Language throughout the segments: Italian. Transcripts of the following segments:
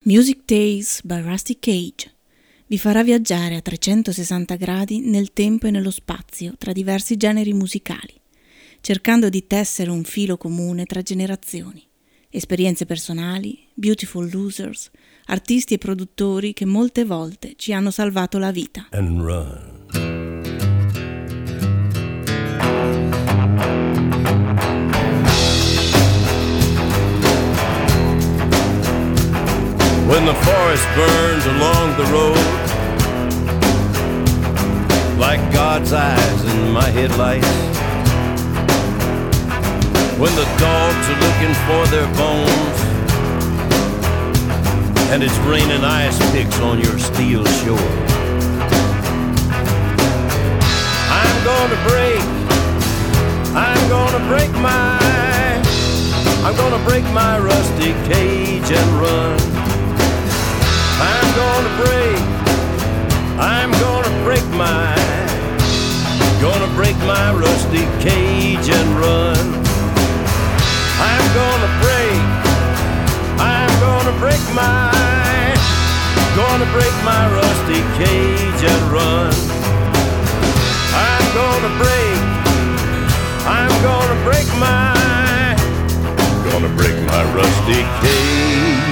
Music Days by Rusty Cage vi farà viaggiare a 360 gradi nel tempo e nello spazio tra diversi generi musicali, cercando di tessere un filo comune tra generazioni, esperienze personali, beautiful losers, artisti e produttori che molte volte ci hanno salvato la vita. And run. When the forest burns along the road, like God's eyes in my headlights, when the dogs are looking for their bones, and it's raining ice picks on your steel shore, I'm gonna break my rusty cage and run. I'm gonna break my rusty cage and run. I'm gonna break my rusty cage and run. I'm gonna break my rusty cage.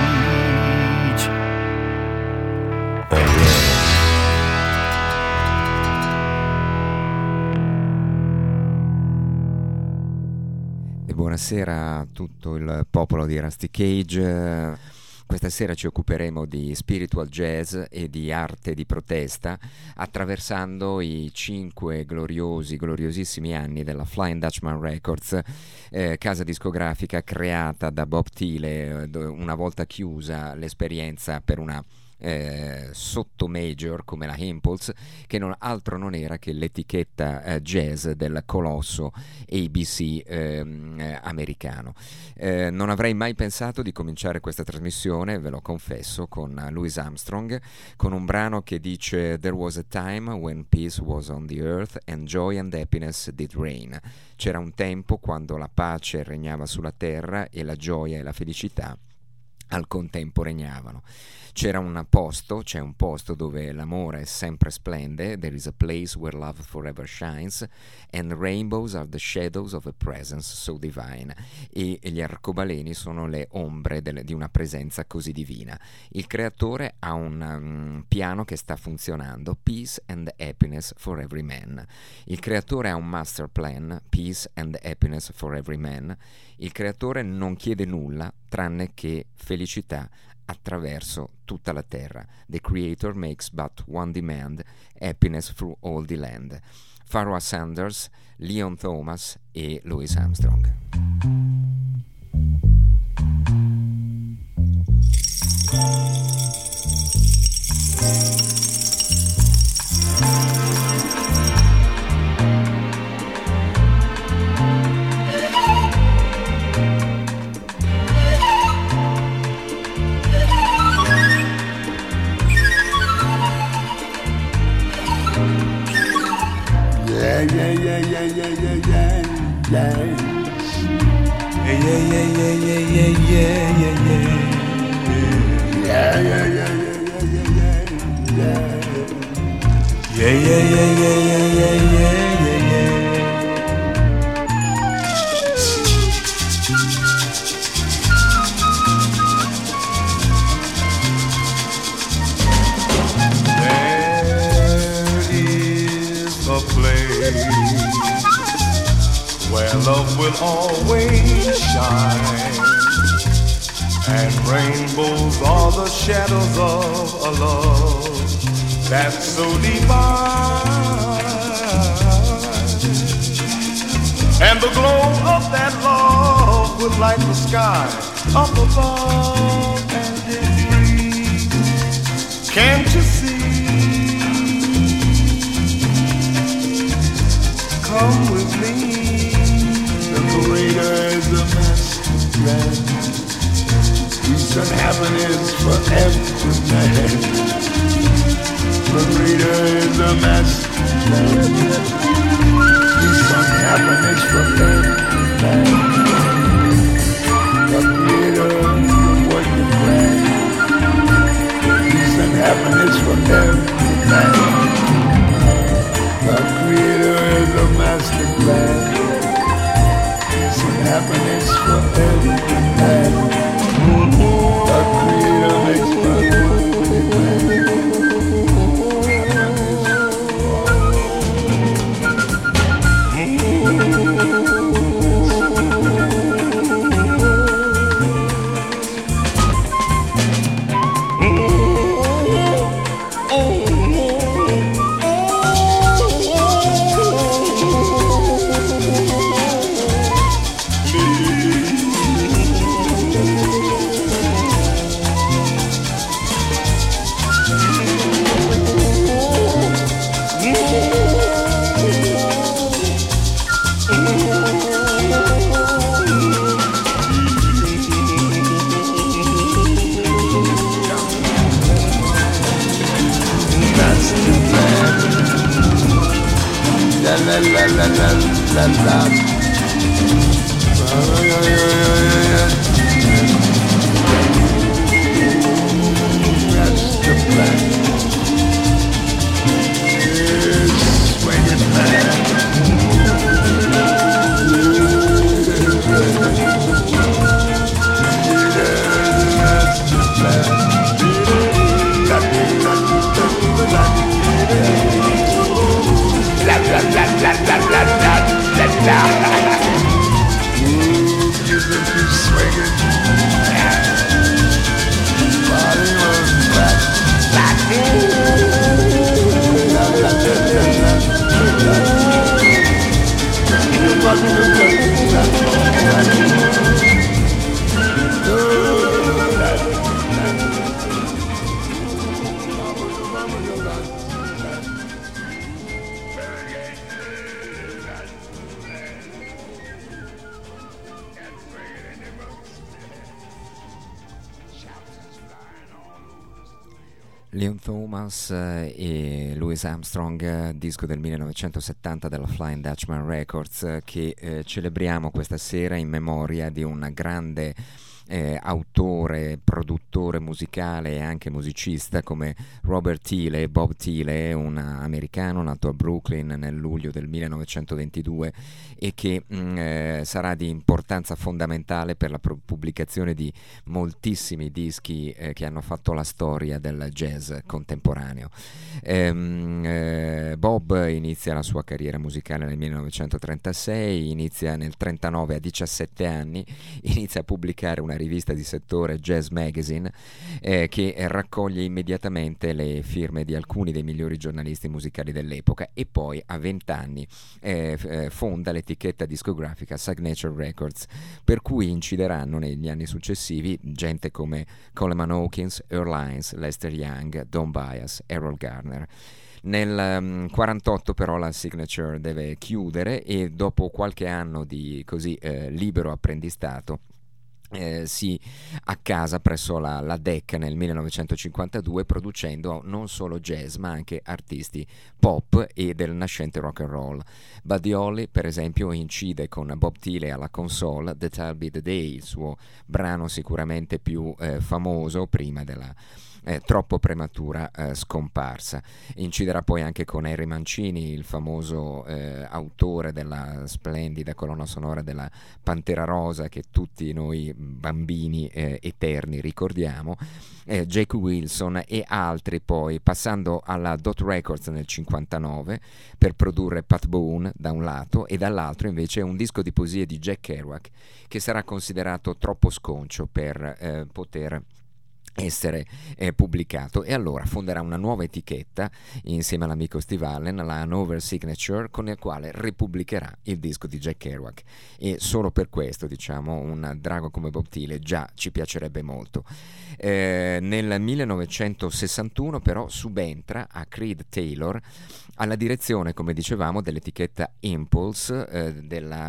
Buonasera a tutto il popolo di Rusty Cage. Questa sera ci occuperemo di spiritual jazz e di arte di protesta, attraversando i 5 gloriosissimi anni della Flying Dutchman Records, casa discografica creata da Bob Thiele, una volta chiusa l'esperienza per una sotto major come la Impulse, che altro non era che l'etichetta jazz del colosso ABC americano. Non avrei mai pensato di cominciare questa trasmissione, ve lo confesso, con Louis Armstrong, con un brano che dice "There was a time when peace was on the earth and joy and happiness did reign". C'era un tempo quando la pace regnava sulla terra e la gioia e la felicità al contempo regnavano. C'è un posto dove l'amore sempre splende. There is a place where love forever shines and rainbows are the shadows of a presence so divine. E gli arcobaleni sono le ombre di una presenza così divina. Il creatore ha un piano che sta funzionando, peace and happiness for every man. Il creatore ha un master plan, peace and happiness for every man. Il creatore non chiede nulla tranne che felicità attraverso tutta la terra. The creator makes but one demand, happiness through all the land. Pharoah Sanders, Leon Thomas e Louis Armstrong. Love will always shine, and rainbows are the shadows of a love that's so divine. And the glow of that love will light the sky up above, and it's free. Can't you see? Come with me. The Creator is the master plan. Peace and happiness for every man. The Creator is the master plan. Peace and happiness for every man. The Creator is the working plan. Leon Thomas e Louis Armstrong, disco del 1970 della Flying Dutchman Records, che celebriamo questa sera in memoria di un grande autore, produttore musicale e anche musicista come Robert Thiele. Bob Thiele, un americano nato a Brooklyn nel luglio del 1922 e che sarà di importanza fondamentale per la pubblicazione di moltissimi dischi che hanno fatto la storia del jazz contemporaneo. Bob inizia la sua carriera musicale nel 1936, inizia nel 1939 a 17 anni, inizia a pubblicare una rivista di settore, Jazz Magazine, che raccoglie immediatamente le firme di alcuni dei migliori giornalisti musicali dell'epoca, e poi a 20 anni fonda l'etichetta discografica Signature Records, per cui incideranno negli anni successivi gente come Coleman Hawkins, Earl Hines, Lester Young, Don Byas, Errol Garner. Nel 1948 però la Signature deve chiudere e dopo qualche anno di così libero apprendistato si accasa presso la DEC nel 1952, producendo non solo jazz ma anche artisti pop e del nascente rock and roll. Buddy Holly, per esempio, incide con Bob Thiele alla console The That'll Be the Day, il suo brano sicuramente più famoso prima della troppo prematura scomparsa. Inciderà poi anche con Henry Mancini, il famoso autore della splendida colonna sonora della Pantera Rosa che tutti noi bambini eterni ricordiamo, Jake Wilson e altri, poi passando alla Dot Records nel 59 per produrre Pat Boone da un lato e dall'altro invece un disco di poesie di Jack Kerouac che sarà considerato troppo sconcio per poter essere pubblicato, e allora fonderà una nuova etichetta insieme all'amico Steve Allen, la Hanover Signature, con il quale ripubblicherà il disco di Jack Kerouac, e solo per questo, diciamo, un drago come Bob Thiele già ci piacerebbe molto. Nel 1961 però subentra a Creed Taylor alla direzione, come dicevamo, dell'etichetta Impulse,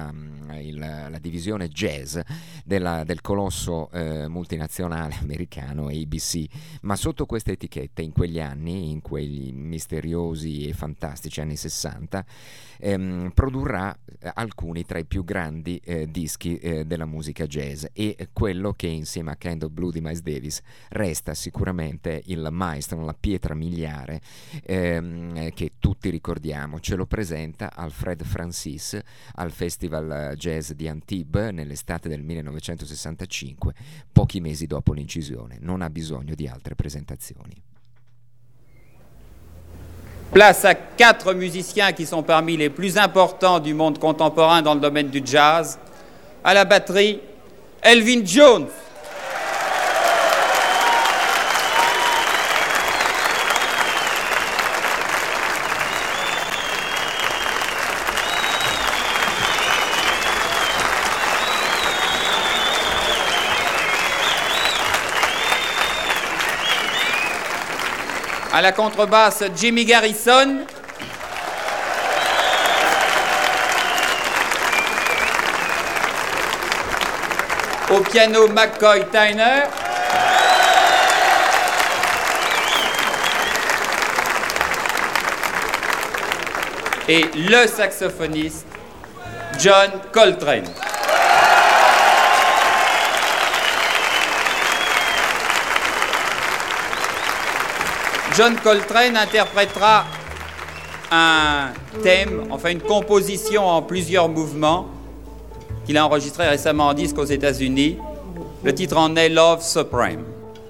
la divisione jazz del colosso multinazionale americano ABC, ma sotto questa etichetta in quegli anni, in quegli misteriosi e fantastici anni 60, produrrà alcuni tra i più grandi dischi della musica jazz, e quello che insieme a Kind of Blue di Miles Davis resta sicuramente il maestro, la pietra miliare che tutti ricordiamo. Ce lo presenta Alfred Francis al Festival Jazz di Antibes nell'estate del 1965, pochi mesi dopo l'incisione. Non ha bisogno di altre presentazioni. Place à 4 musiciens qui sont parmi les plus importants du monde contemporain dans le domaine du jazz. À la batterie, Elvin Jones. À la contrebasse, Jimmy Garrison. Au piano, McCoy Tyner. et le saxophoniste John Coltrane. John Coltrane interprétera un thème, enfin une composition en plusieurs mouvements qu'il a enregistré récemment en disque aux États-Unis. Le titre en est Love Supreme.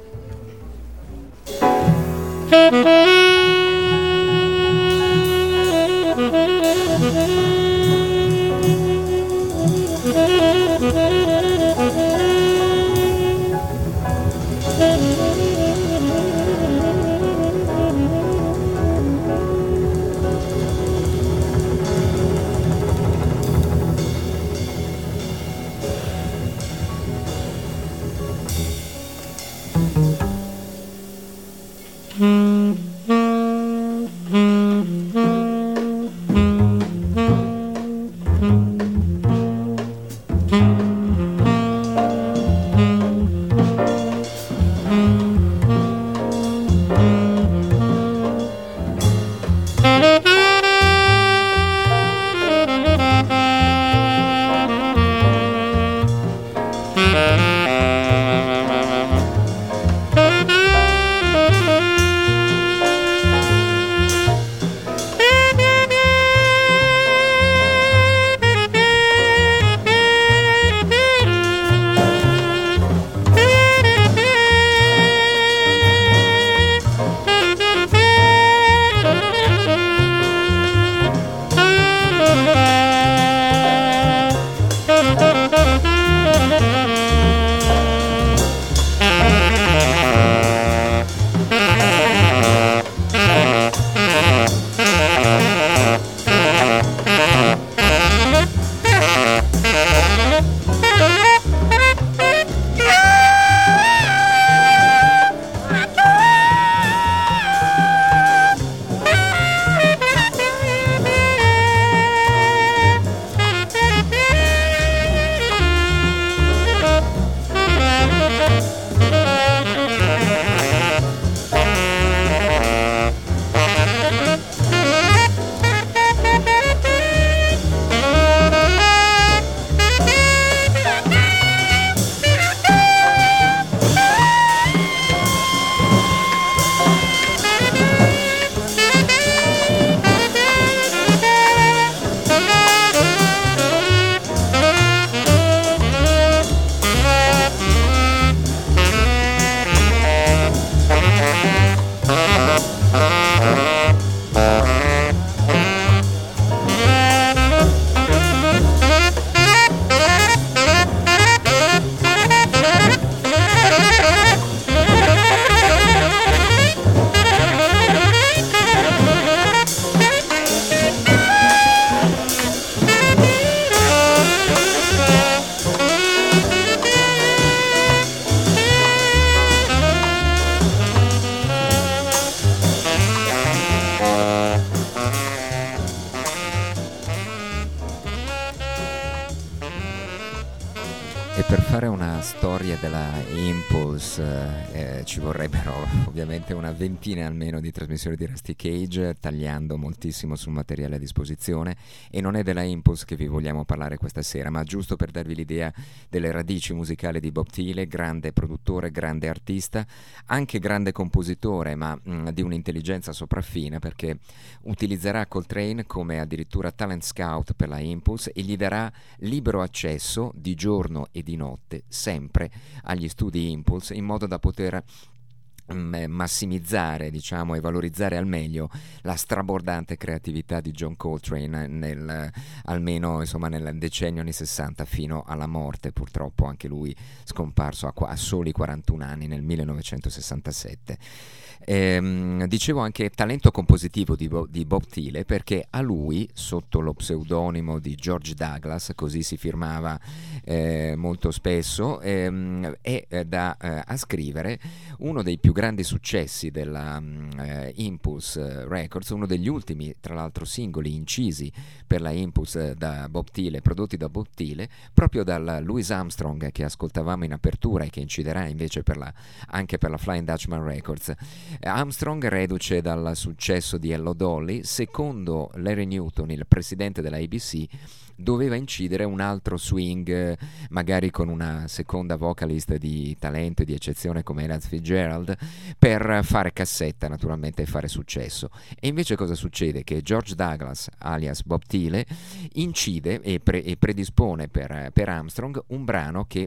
E per fare una storia della Impulse ci vorrebbero ovviamente una ventina almeno di trasmissioni di Rusty Cage, tagliando moltissimo sul materiale a disposizione, e non è della Impulse che vi vogliamo parlare questa sera, ma giusto per darvi l'idea delle radici musicali di Bob Thiele, grande produttore, grande artista, anche grande compositore, ma di un'intelligenza sopraffina, perché utilizzerà Coltrane come addirittura talent scout per la Impulse e gli darà libero accesso di giorno e di notte sempre agli studi Impulse, in modo da poter massimizzare, diciamo, e valorizzare al meglio la strabordante creatività di John Coltrane almeno insomma nel decennio anni 60 fino alla morte, purtroppo anche lui scomparso a soli 41 anni nel 1967. Dicevo anche talento compositivo di Bob Thiele, perché a lui, sotto lo pseudonimo di George Douglas, così si firmava molto spesso, è da ascrivere uno dei più grandi successi della Impulse Records, uno degli ultimi tra l'altro singoli incisi per la Impulse da Bob Thiele, prodotti da Bob Thiele, proprio dal Louis Armstrong che ascoltavamo in apertura e che inciderà invece anche per la Flying Dutchman Records. Armstrong, reduce dal successo di Hello Dolly, secondo Larry Newton, il presidente della ABC, doveva incidere un altro swing, magari con una seconda vocalist di talento e di eccezione come Ella Fitzgerald, per fare cassetta naturalmente e fare successo. E invece cosa succede? Che George Douglas, alias Bob Thiele, incide e predispone per Armstrong un brano che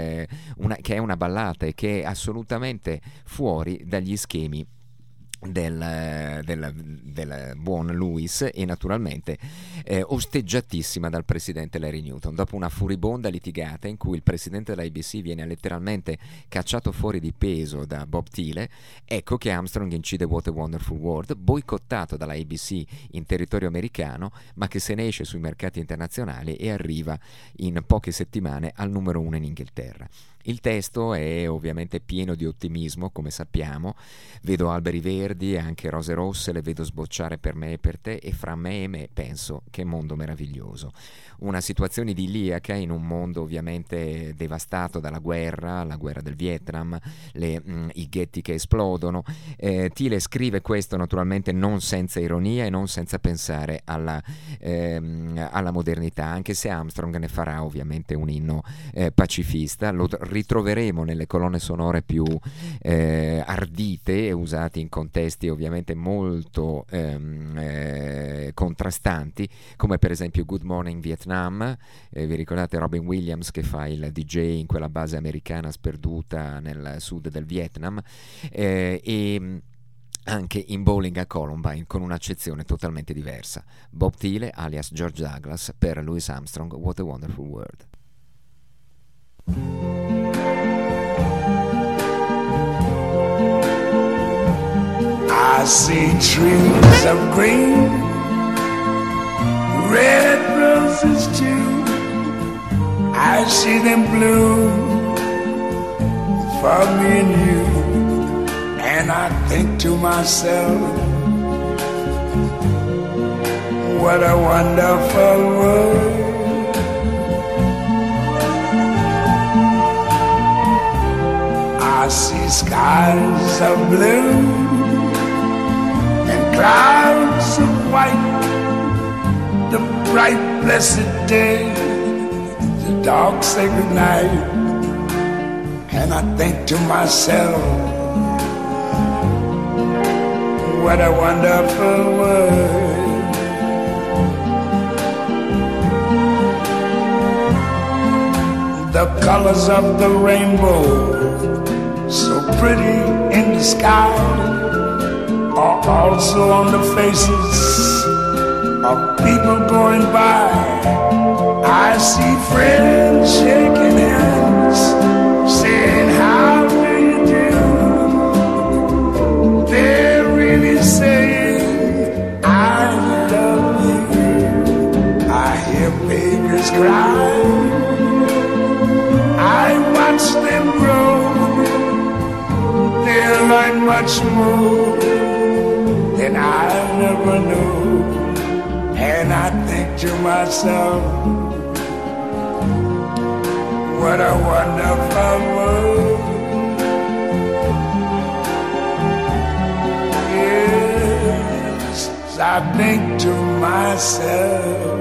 è una ballata e che è assolutamente fuori dagli schemi del buon Louis, e naturalmente osteggiatissima dal presidente Larry Newton. Dopo una furibonda litigata in cui il presidente dell'ABC viene letteralmente cacciato fuori di peso da Bob Thiele, ecco che Armstrong incide What a Wonderful World, boicottato dalla ABC in territorio americano, ma che se ne esce sui mercati internazionali e arriva in poche settimane al numero 1 in Inghilterra. Il testo è ovviamente pieno di ottimismo, come sappiamo. Vedo alberi verdi e anche rose rosse, le vedo sbocciare per me e per te, e fra me e me penso che mondo meraviglioso. Una situazione idilliaca in un mondo ovviamente devastato dalla guerra, la guerra del Vietnam, i ghetti che esplodono. Thiele scrive questo naturalmente non senza ironia e non senza pensare alla modernità, anche se Armstrong ne farà ovviamente un inno pacifista. Lo ritroveremo nelle colonne sonore più ardite e usate in contesti ovviamente molto contrastanti, come per esempio Good Morning Vietnam. Vi ricordate Robin Williams che fa il DJ in quella base americana sperduta nel sud del Vietnam, e anche in Bowling a Columbine, con un'accezione totalmente diversa. Bob Thiele alias George Douglas per Louis Armstrong, What a Wonderful World. I see trees of green, red roses too. I see them bloom for me and you. And I think to myself, what a wonderful world. I see skies of blue and clouds of white, the bright blessed day, the dark sacred night. And I think to myself, what a wonderful world. The colors of the rainbow, so pretty in the sky, are also on the faces of people going by. I see friends shaking hands, saying how do you do. They're really saying I love you. I hear babies cry, I watch them grow. They'll learn much more than I never knew. And I think to myself, what a wonderful world. Yes, I think to myself,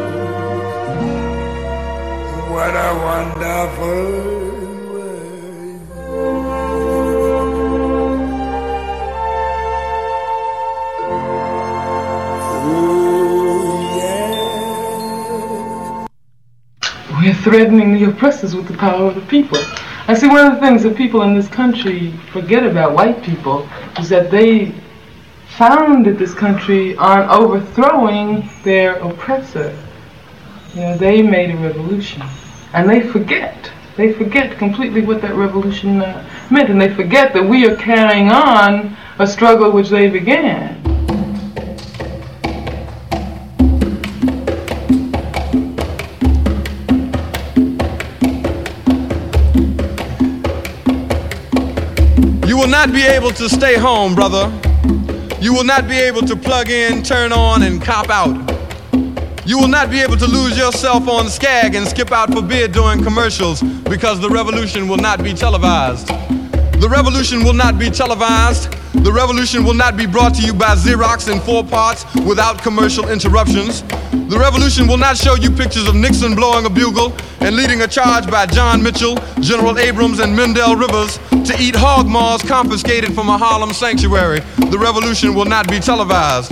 what a wonderful world. We're threatening the oppressors with the power of the people. I see one of the things that people in this country forget about white people is that they founded this country on overthrowing their oppressor. You know, they made a revolution, and they forget completely what that revolution meant, and they forget that we are carrying on a struggle which they began. You will not be able to stay home, brother. You will not be able to plug in, turn on, and cop out. You will not be able to lose yourself on Skag and skip out for beer during commercials because the revolution will not be televised. The revolution will not be televised. The revolution will not be brought to you by Xerox in 4 parts without commercial interruptions. The revolution will not show you pictures of Nixon blowing a bugle and leading a charge by John Mitchell, General Abrams, and Mendel Rivers to eat hog maws confiscated from a Harlem sanctuary. The revolution will not be televised.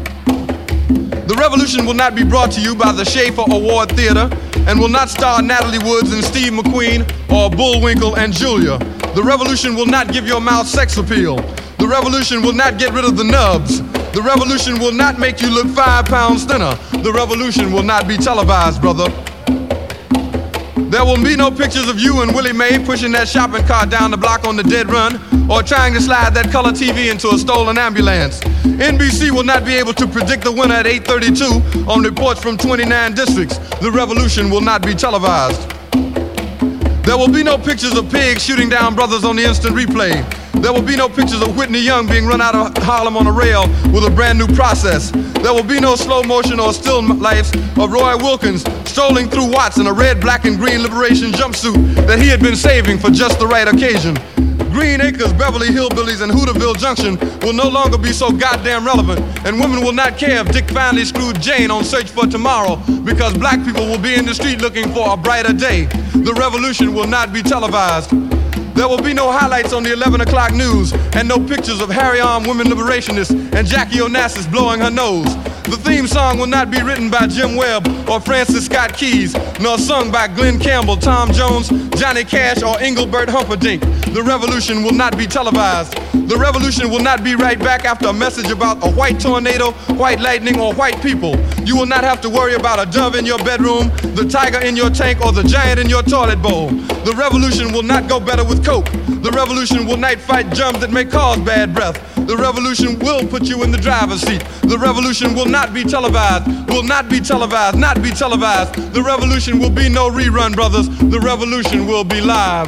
The revolution will not be brought to you by the Schaefer Award Theater and will not star Natalie Woods and Steve McQueen or Bullwinkle and Julia. The revolution will not give your mouth sex appeal. The revolution will not get rid of the nubs. The revolution will not make you look 5 pounds thinner. The revolution will not be televised, brother. There will be no pictures of you and Willie Mae pushing that shopping cart down the block on the dead run or trying to slide that color TV into a stolen ambulance. NBC will not be able to predict the winner at 8:32 on reports from 29 districts. The revolution will not be televised. There will be no pictures of pigs shooting down brothers on the instant replay. There will be no pictures of Whitney Young being run out of Harlem on a rail with a brand new process. There will be no slow motion or still lifes of Roy Wilkins strolling through Watts in a red, black, and green liberation jumpsuit that he had been saving for just the right occasion. Green Acres, Beverly Hillbillies, and Hooterville Junction will no longer be so goddamn relevant, and women will not care if Dick finally screwed Jane on Search for Tomorrow because black people will be in the street looking for a brighter day. The revolution will not be televised. There will be no highlights on the 11 o'clock news and no pictures of Harry-armed women liberationists and Jackie Onassis blowing her nose. The theme song will not be written by Jim Webb or Francis Scott Keys, nor sung by Glenn Campbell, Tom Jones, Johnny Cash, or Engelbert Humperdinck. The revolution will not be televised. The revolution will not be right back after a message about a white tornado, white lightning, or white people. You will not have to worry about a dove in your bedroom, the tiger in your tank, or the giant in your toilet bowl. The revolution will not go better with coke. The revolution will not fight germs that may cause bad breath. The revolution will put you in the driver's seat. The revolution will not be televised, will not be televised, not be televised. The revolution will be no rerun, brothers. The revolution will be live.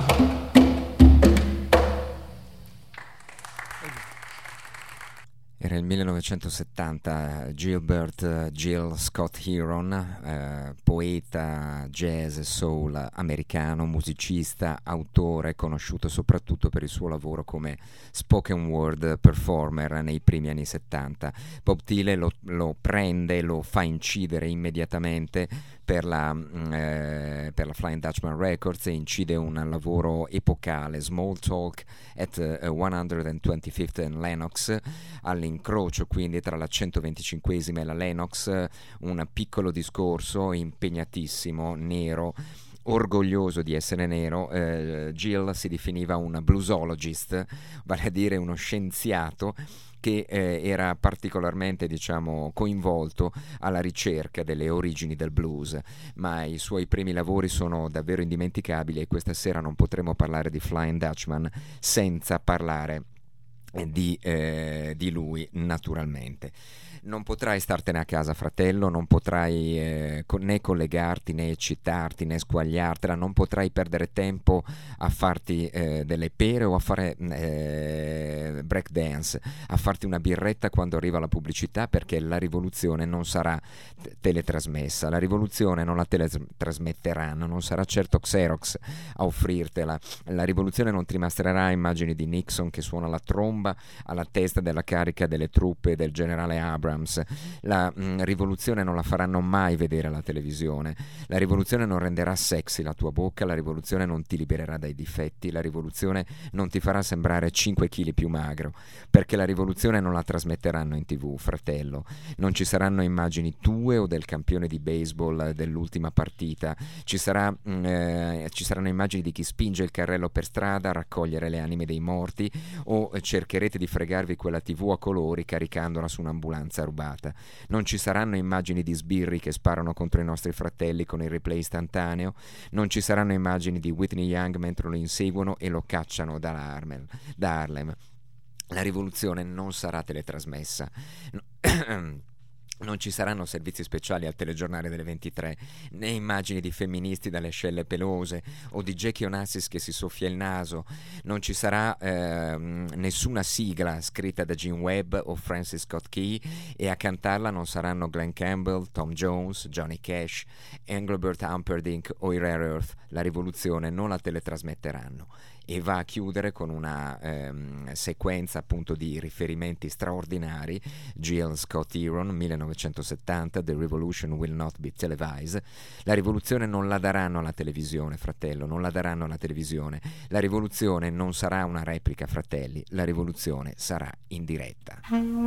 Era il 1970, Gilbert Gil Scott Heron, poeta jazz e soul americano, musicista, autore, conosciuto soprattutto per il suo lavoro come spoken word performer nei primi anni 70. Bob Thiele lo prende, lo fa incidere immediatamente per la Flying Dutchman Records e incide un lavoro epocale, Small Talk at 125th and Lenox, all'incrocio quindi tra la 125esima e la Lenox, un piccolo discorso impegnatissimo, nero, orgoglioso di essere nero. Gil si definiva un bluesologist, vale a dire uno scienziato che era particolarmente, coinvolto alla ricerca delle origini del blues, ma i suoi primi lavori sono davvero indimenticabili e questa sera non potremo parlare di Flying Dutchman senza parlare di lui, naturalmente. Non potrai startene a casa, fratello, non potrai né collegarti, né eccitarti, né squagliartela, non potrai perdere tempo a farti delle pere o a fare break dance, a farti una birretta quando arriva la pubblicità, perché la rivoluzione non sarà teletrasmessa, la rivoluzione non la teletrasmetteranno, non sarà certo Xerox a offrirtela, la rivoluzione non ti mostrerà immagini di Nixon che suona la tromba alla testa della carica delle truppe del generale Abrams. La rivoluzione non la faranno mai vedere alla televisione, la rivoluzione non renderà sexy la tua bocca, la rivoluzione non ti libererà dai difetti, la rivoluzione non ti farà sembrare 5 kg più magro, perché la rivoluzione non la trasmetteranno in TV, fratello. Non ci saranno immagini tue o del campione di baseball dell'ultima partita, ci saranno immagini di chi spinge il carrello per strada a raccogliere le anime dei morti, o cercherete di fregarvi quella TV a colori caricandola su un'ambulanza rubata. Non ci saranno immagini di sbirri che sparano contro i nostri fratelli con il replay istantaneo, non ci saranno immagini di Whitney Young mentre lo inseguono e lo cacciano da Harlem. La rivoluzione non sarà teletrasmessa. Non ci saranno servizi speciali al telegiornale delle 23, né immagini di femministi dalle ascelle pelose o di Jackie Onassis che si soffia il naso. Non ci sarà nessuna sigla scritta da Gene Webb o Francis Scott Key, e a cantarla non saranno Glenn Campbell, Tom Jones, Johnny Cash, Engelbert Humperdinck o i Rare Earth. La rivoluzione non la teletrasmetteranno. E va a chiudere con una sequenza appunto di riferimenti straordinari. G.L. Scott Heron, 1970, The Revolution Will Not Be Televised. La rivoluzione non la daranno alla televisione, fratello, non la daranno alla televisione. La rivoluzione non sarà una replica, fratelli, la rivoluzione sarà in diretta.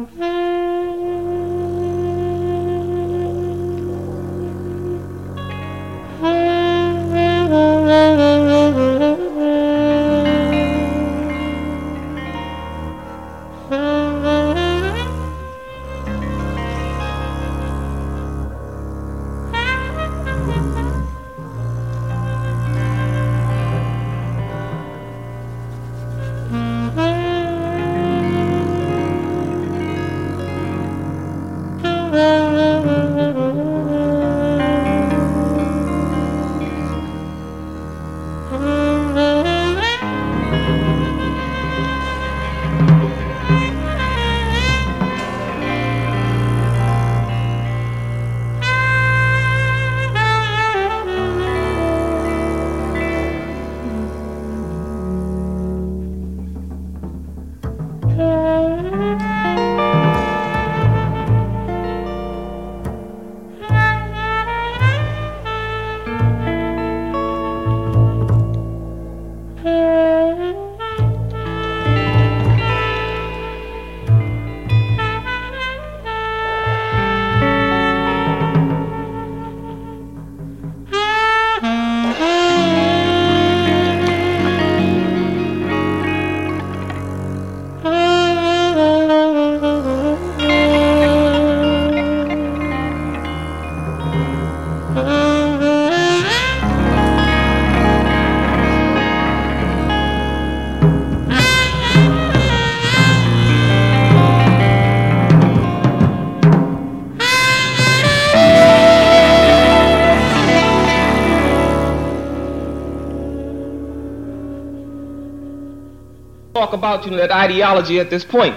Talk about that ideology at this point,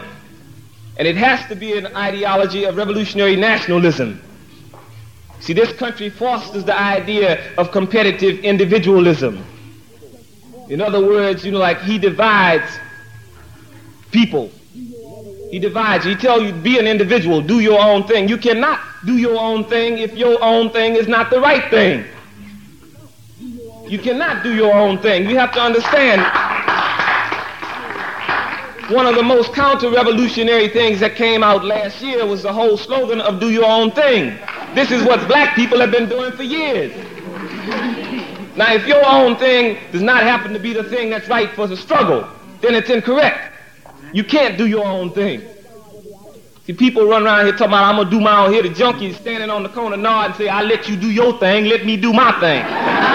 and it has to be an ideology of revolutionary nationalism. See, this country fosters the idea of competitive individualism. In other words, like he divides people. He divides. He tells you, be an individual, do your own thing. You cannot do your own thing if your own thing is not the right thing. You cannot do your own thing. You have to understand, one of the most counter-revolutionary things that came out last year was the whole slogan of do your own thing. This is what black people have been doing for years. Now, if your own thing does not happen to be the thing that's right for the struggle, then it's incorrect. You can't do your own thing. See, people run around here talking about, I'm going to do my own. Here, the junkies standing on the corner nod and say, I let you do your thing, let me do my thing.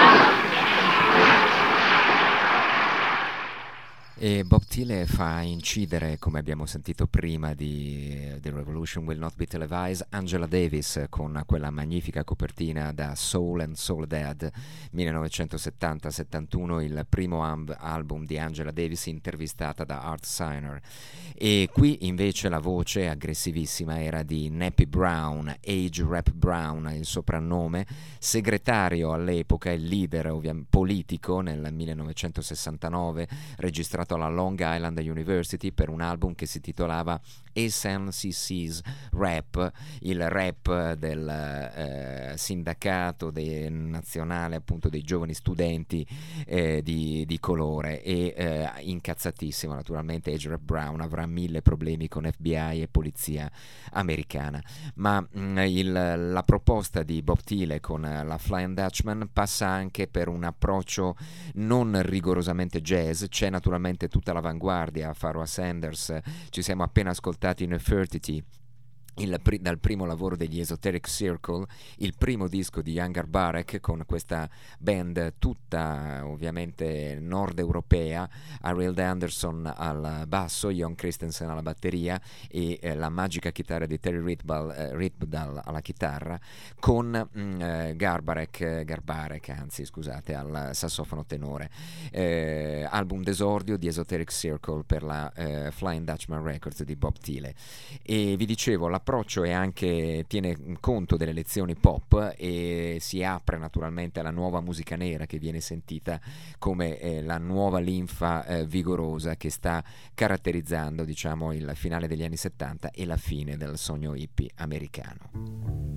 E Bob Thiele fa incidere, come abbiamo sentito prima di The Revolution Will Not Be Televised, Angela Davis con quella magnifica copertina da Soul and Soul Dead 1970-71, il primo album di Angela Davis intervistata da Art Siner. E qui invece la voce aggressivissima era di Nappy Brown, Age Rap Brown il soprannome, segretario all'epoca e leader politico nel 1969, registrato alla Long Island University per un album che si titolava SNCC's Rap, il rap del sindacato nazionale appunto dei giovani studenti di colore, e incazzatissimo naturalmente Age Rap Brown avrà 1000 problemi con FBI e polizia americana, ma la proposta di Bob Thiele con la Flying Dutchman passa anche per un approccio non rigorosamente jazz. C'è naturalmente tutta l'avanguardia, Pharoah Sanders, ci siamo appena ascoltati Nefertiti dal primo lavoro degli Esoteric Circle, il primo disco di Jan Garbarek, con questa band tutta ovviamente nord europea, Ariel Anderson al basso, Jon Christensen alla batteria e la magica chitarra di Terry Ritbdal alla chitarra, con Garbarek al sassofono tenore. Album d'esordio di Esoteric Circle per la Flying Dutchman Records di Bob Thiele. E vi dicevo, l'approccio è anche, tiene conto delle lezioni pop e si apre naturalmente alla nuova musica nera, che viene sentita come la nuova linfa vigorosa che sta caratterizzando, diciamo, il finale degli anni 70 e la fine del sogno hippie americano.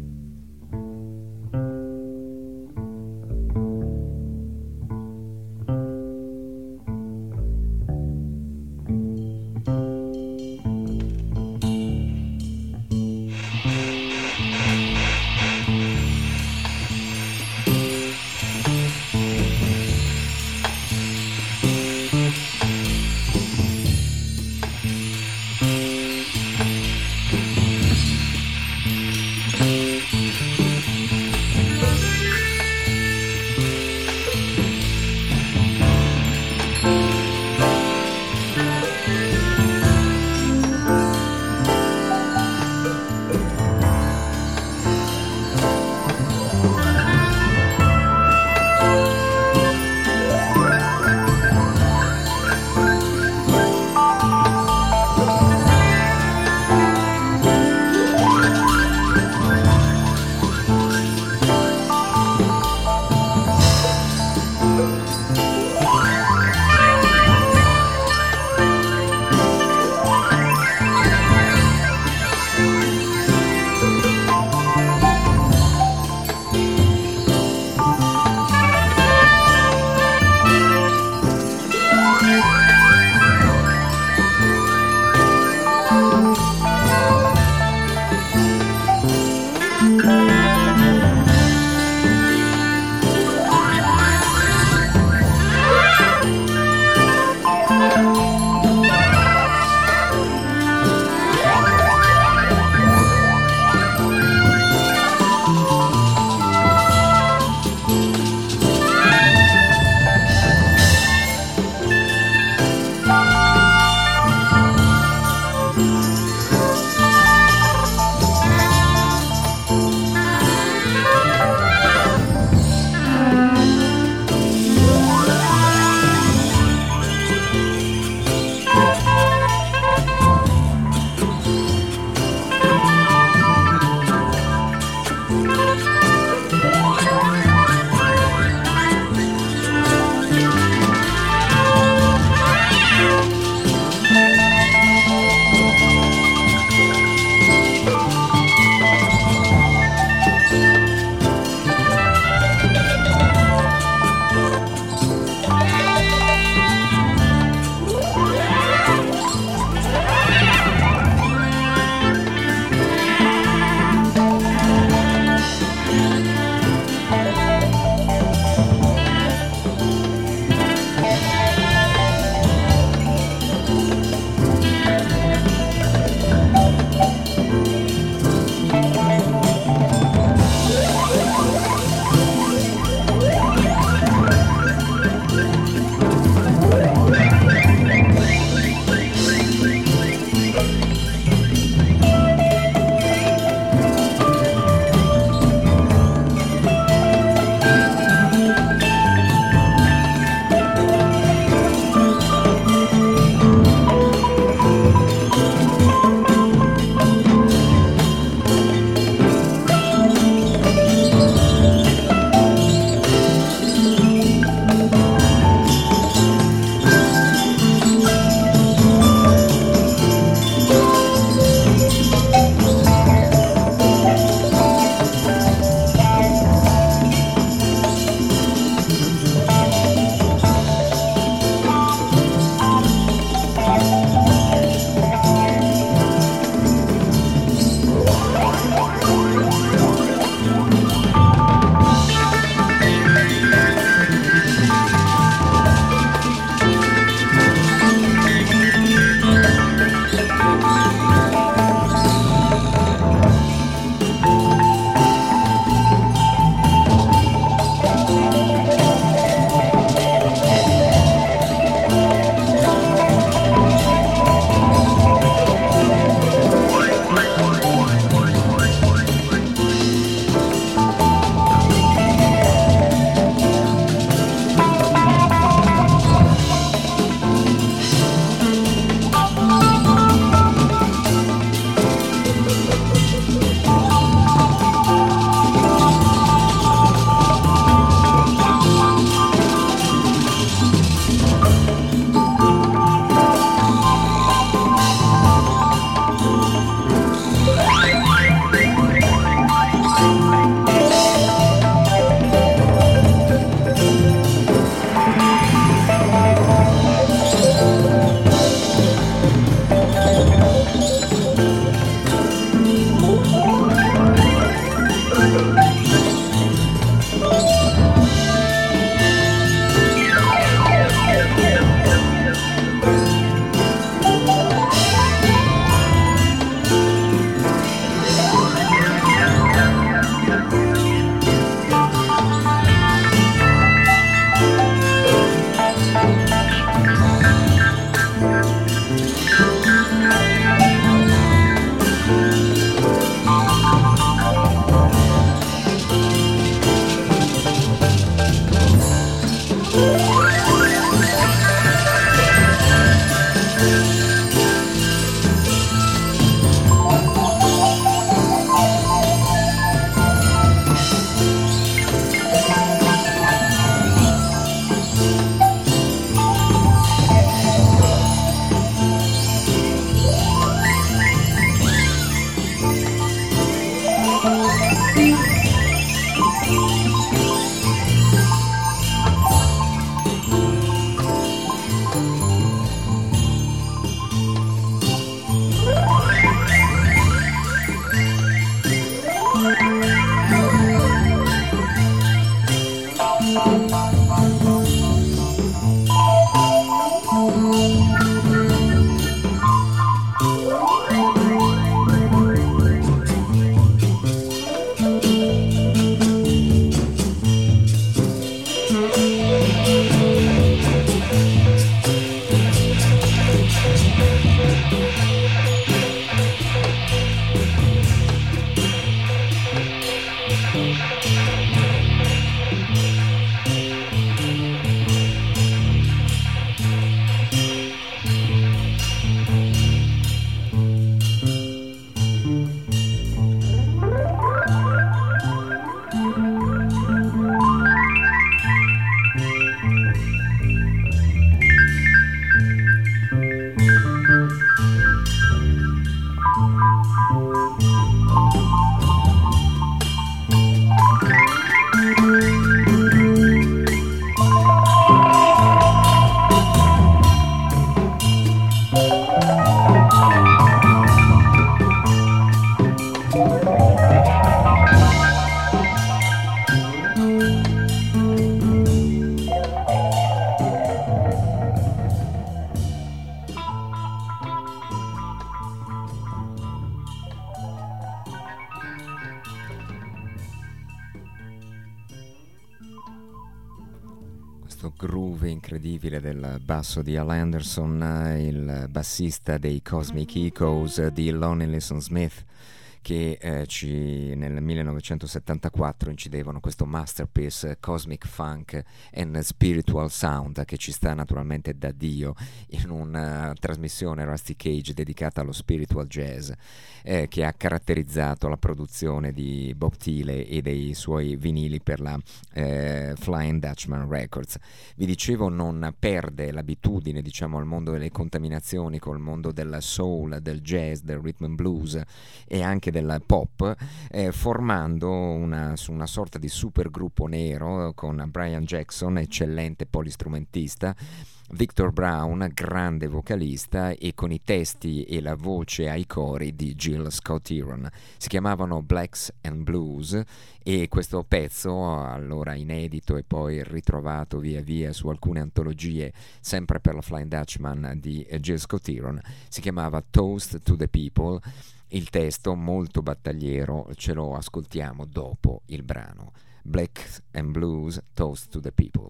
questo groove incredibile del basso di Al Anderson, il bassista dei Cosmic Echoes di Lonnie Liston Smith, che nel 1974 incidevano questo masterpiece Cosmic Funk and Spiritual Sound, che ci sta naturalmente da Dio in una trasmissione Rusty Cage dedicata allo spiritual jazz, che ha caratterizzato la produzione di Bob Thiele e dei suoi vinili per la Flying Dutchman Records. Vi dicevo, non perde l'abitudine, diciamo, al mondo delle contaminazioni col mondo del soul, del jazz, del rhythm and blues e anche del pop, formando una sorta di supergruppo nero con Brian Jackson, eccellente polistrumentista, Victor Brown, grande vocalista, e con i testi e la voce ai cori di Jill Scott-Heron. Si chiamavano Blacks and Blues, e questo pezzo, allora inedito e poi ritrovato via via su alcune antologie sempre per la Flying Dutchman di Jill Scott-Heron, si chiamava Toast to the People. Il testo, molto battagliero, ce lo ascoltiamo dopo il brano. Black and Blues, Toast to the People.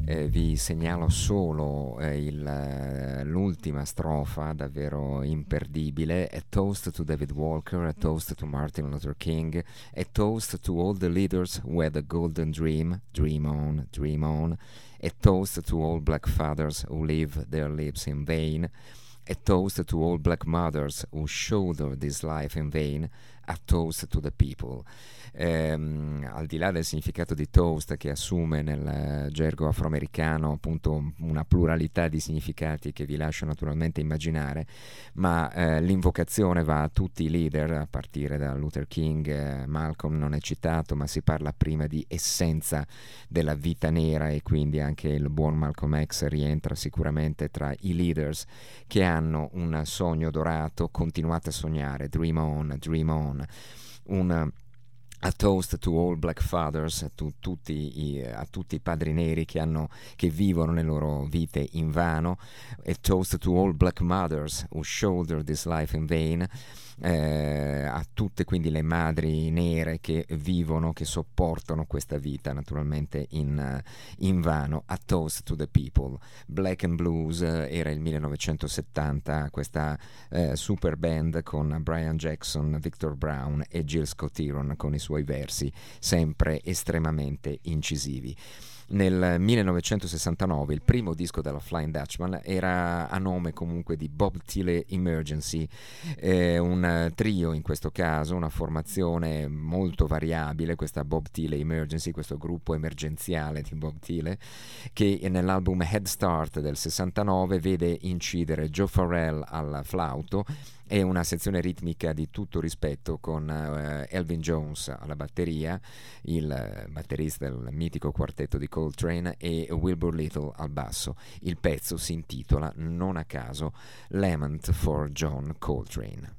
Vi segnalo solo l'ultima strofa, davvero imperdibile: A toast to David Walker, a toast to Martin Luther King, a toast to all the leaders who had a golden dream, dream on, dream on, a toast to all black fathers who live their lives in vain, a toast to all black mothers who shoulder this life in vain, a toast to the people. Al di là del significato di toast, che assume nel gergo afroamericano appunto una pluralità di significati che vi lascio naturalmente immaginare, ma l'invocazione va a tutti i leader, a partire da Luther King. Malcolm non è citato, ma si parla prima di essenza della vita nera, e quindi anche il buon Malcolm X rientra sicuramente tra i leaders che hanno un sogno dorato. Continuate a sognare, dream on, dream on. A toast to all black fathers, a tutti i padri neri che vivono le loro vite in vano. A toast to all black mothers who shoulder this life in vain. A tutte quindi le madri nere che vivono, che sopportano questa vita naturalmente in vano. A toast to the people. Black and Blues era il 1970, questa super band con Brian Jackson, Victor Brown e Jill Scott-Heron con i suoi versi sempre estremamente incisivi. Nel 1969 il primo disco della Flying Dutchman era a nome comunque di Bob Thiele Emergency, un trio in questo caso, una formazione molto variabile, questa Bob Thiele Emergency, questo gruppo emergenziale di Bob Thiele, che nell'album Head Start del 69 vede incidere Joe Farrell al flauto e una sezione ritmica di tutto rispetto con Elvin Jones alla batteria, il batterista del mitico quartetto di Coltrane, e Wilbur Little al basso. Il pezzo si intitola non a caso Lament for John Coltrane.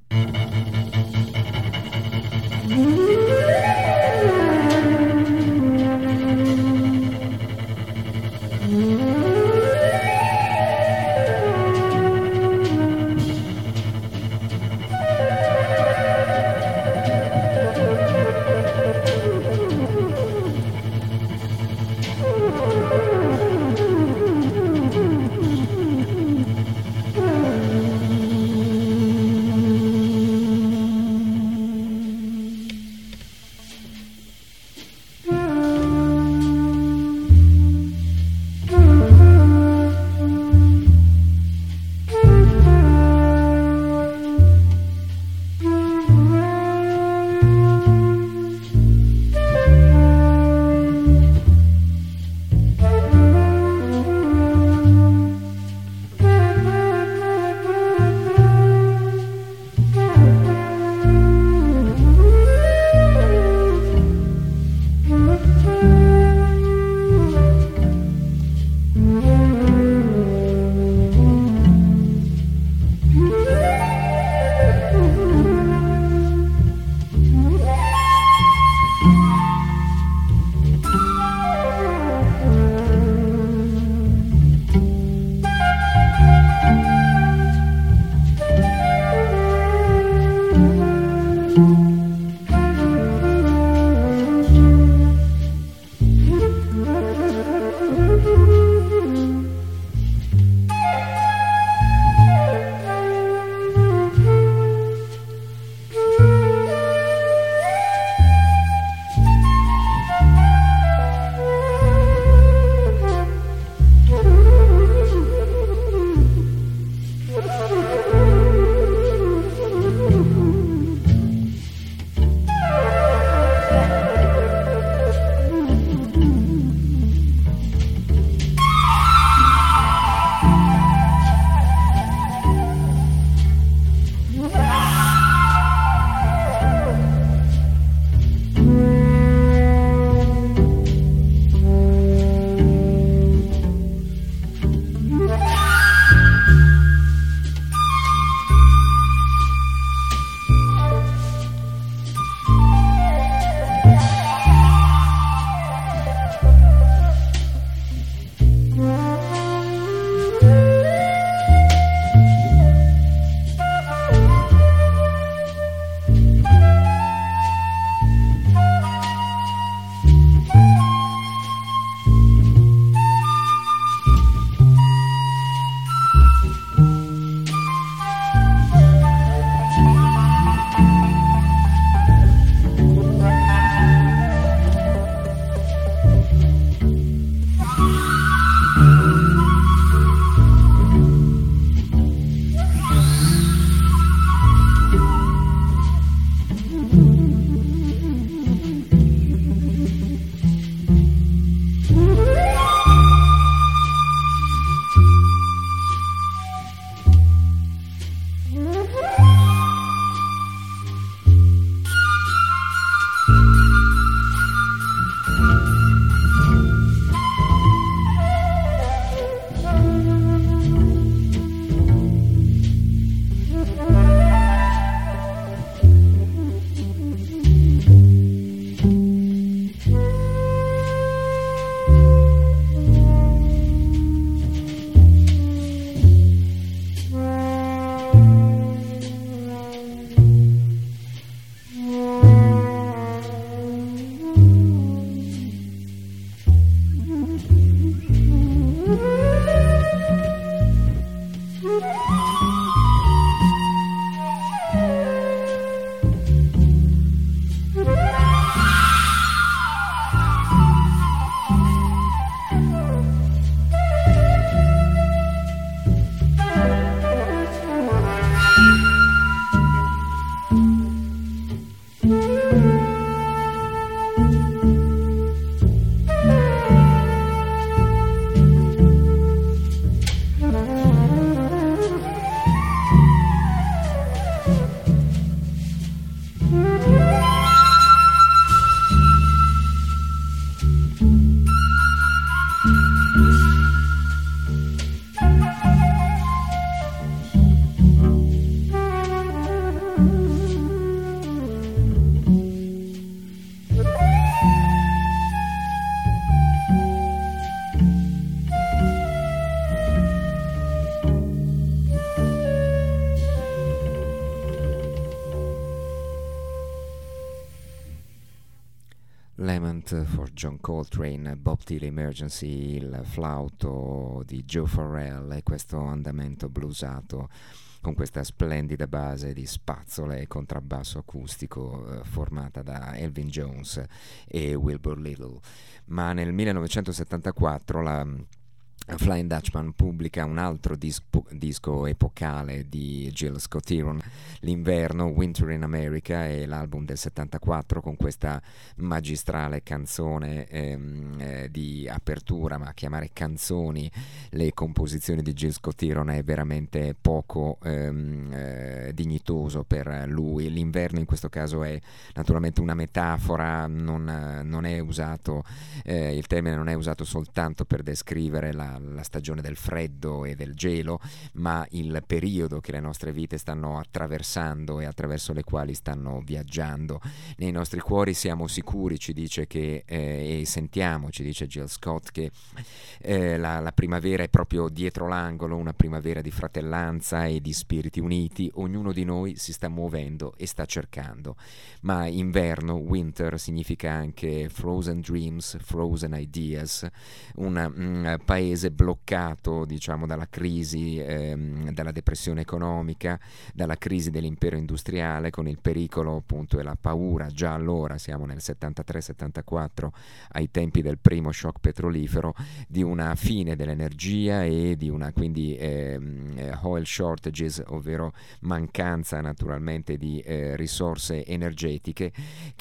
Lament for John Coltrane, Bob Dylan Emergency, il flauto di Joe Farrell e questo andamento bluesato con questa splendida base di spazzole e contrabbasso acustico formata da Elvin Jones e Wilbur Little. Ma nel 1974 la Flying Dutchman pubblica un altro disco epocale di Gil Scott-Heron, L'inverno, Winter in America, è l'album del 74 con questa magistrale canzone di apertura, ma chiamare canzoni le composizioni di Gil Scott-Heron è veramente poco dignitoso per lui. L'inverno in questo caso è naturalmente una metafora, non è usato, il termine non è usato soltanto per descrivere la stagione del freddo e del gelo, ma il periodo che le nostre vite stanno attraversando e attraverso le quali stanno viaggiando. Nei nostri cuori siamo sicuri, ci dice che e sentiamo, ci dice Gil Scott, che la primavera è proprio dietro l'angolo, una primavera di fratellanza e di spiriti uniti. Ognuno di noi si sta muovendo e sta cercando. Ma inverno, winter, significa anche frozen dreams, frozen ideas, un paese bloccato, diciamo, dalla crisi, dalla depressione economica, dalla crisi dell'impero industriale, con il pericolo appunto e la paura, già allora siamo nel 73-74, ai tempi del primo shock petrolifero, di una fine dell'energia e di una quindi oil shortages, ovvero mancanza naturalmente di risorse energetiche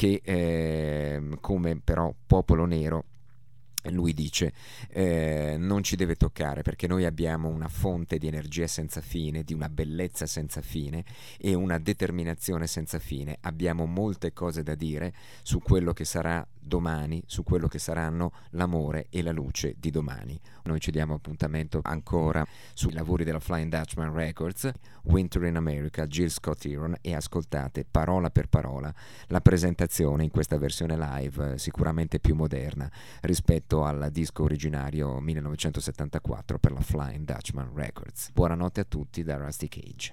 che come però popolo nero, lui dice, non ci deve toccare, perché noi abbiamo una fonte di energia senza fine, di una bellezza senza fine e una determinazione senza fine. Abbiamo molte cose da dire su quello che sarà domani, su quello che saranno l'amore e la luce di domani. Noi ci diamo appuntamento ancora sui lavori della Flying Dutchman Records, Winter in America, Gil Scott-Heron, e ascoltate parola per parola la presentazione in questa versione live, sicuramente più moderna rispetto al disco originario 1974 per la Flying Dutchman Records. Buonanotte a tutti da Rusty Cage.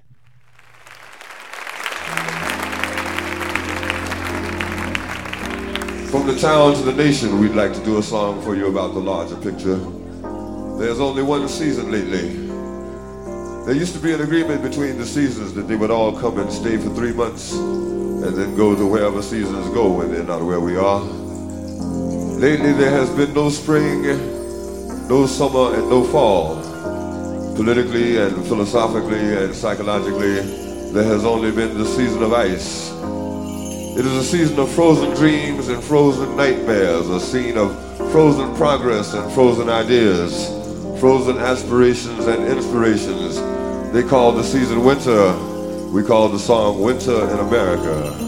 From the town to the nation, we'd like to do a song for you about the larger picture. There's only one season lately. There used to be an agreement between the seasons that they would all come and stay for 3 months and then go to wherever seasons go when they're not where we are. Lately there has been no spring, no summer, and no fall. Politically and philosophically and psychologically, there has only been the season of ice. It is a season of frozen dreams and frozen nightmares, a scene of frozen progress and frozen ideas, frozen aspirations and inspirations. They call the season winter. We call the song Winter in America.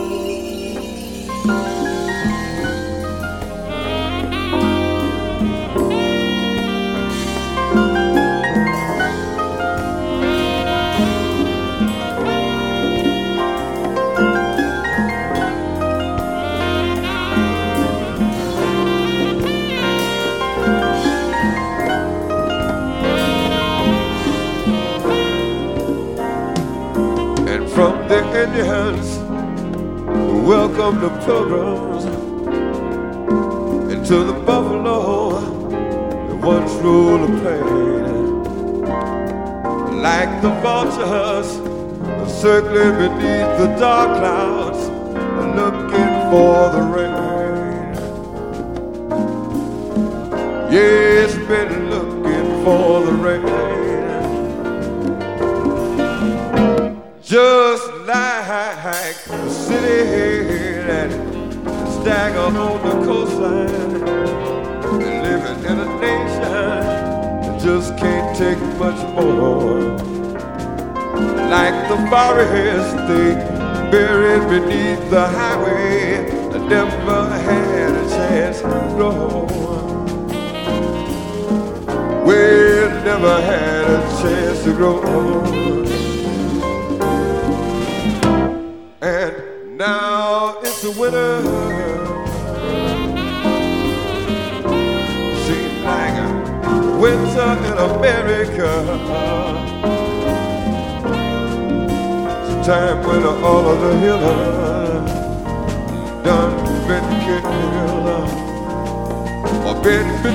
From the Indians who welcomed the pilgrims into the buffalo that once ruled the plain. Like the vultures circling beneath the dark clouds, looking for the rain. Yeah, it's been looking for the rain. Just like the city that stagger on the coastline, living in a nation that just can't take much more. Like the forest they buried beneath the highway, I never had a chance to grow. We never had a chance to grow. And now it's the winter. Seems like a winter in America. It's a time when all of the healers done been killed.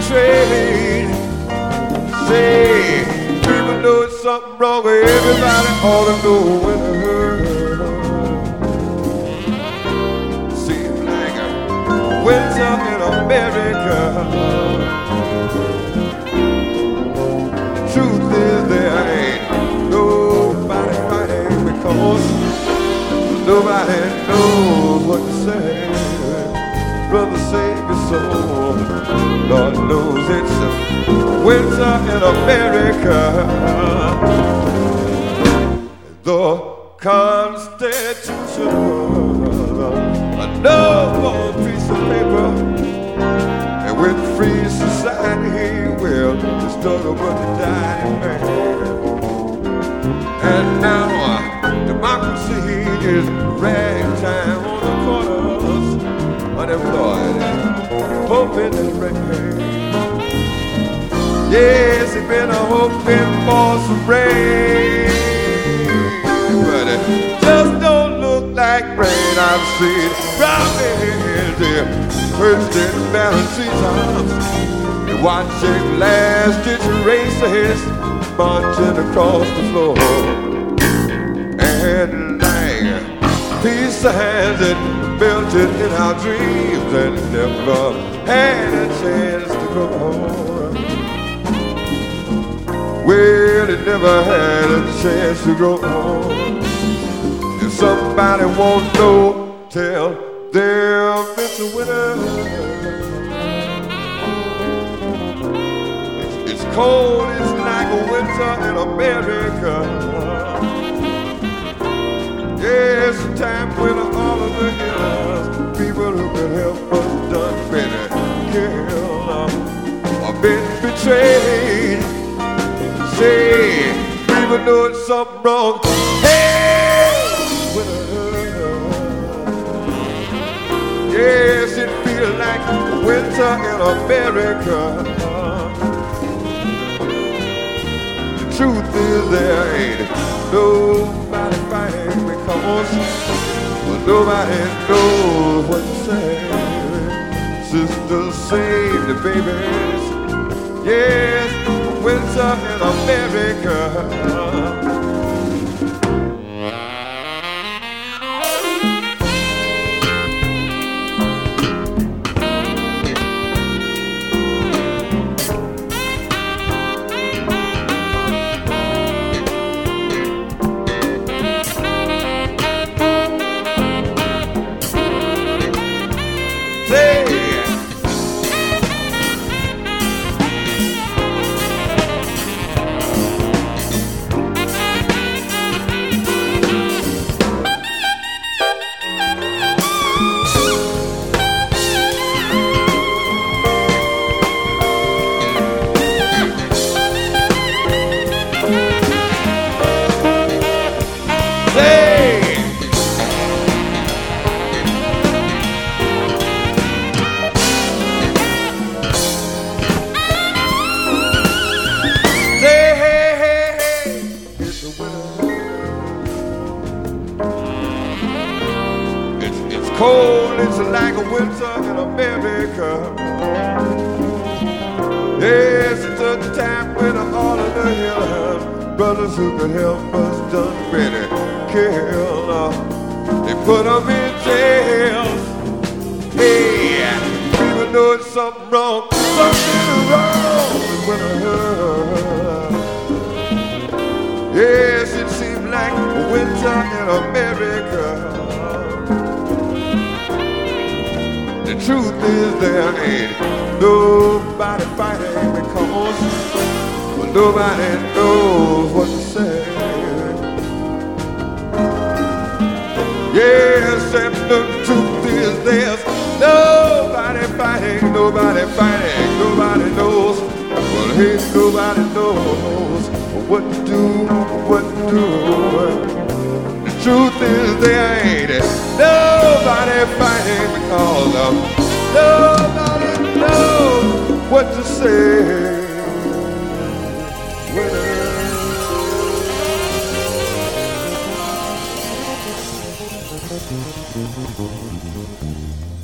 betrayed. Say, people know it's something wrong, but everybody ought to know when it hurts. Seems like a winter in America. The truth is there ain't nobody fighting because nobody knows what to say. Brother, save your soul. Lord knows it's a winter in America. The Constitution, a noble piece of paper, and with free society, well, the struggle but the dying man. And now democracy is ragtime on the corners, unemployed, hoping and praying. Yes, it's been a hoping for some rain, but it just don't look like rain. I've seen promises there, first in balancing times, and watching last-ditch races marching across the floor, and like peace signs that melted in our dreams and never had a chance to go home. Well, it never had a chance to grow on. If somebody won't know, tell them it's a winner. It's cold, it's like a winter in America. Yes, a time when all of the healers, people who could help us done better, killed or been betrayed. Say, people know it's something wrong. Hey, yes, it feels like winter in America. The truth is there ain't nobody fighting because nobody knows what to say. Sisters save the babies. Yes, winter in America. Cold, it's like a winter in America. Yes, it's a time when all of the healers, brothers who could help us done better killed. They put them in jail. Hey, people know it's something wrong. Something wrong with winter. Yes, it seems like winter in America. The truth is there ain't nobody fighting because nobody knows what to say. Yes, and the truth is there's nobody fighting, nobody fighting, nobody knows. Well, hey, nobody knows what to do, what to do. The truth is there ain't nobody fighting because nobody knows what to say.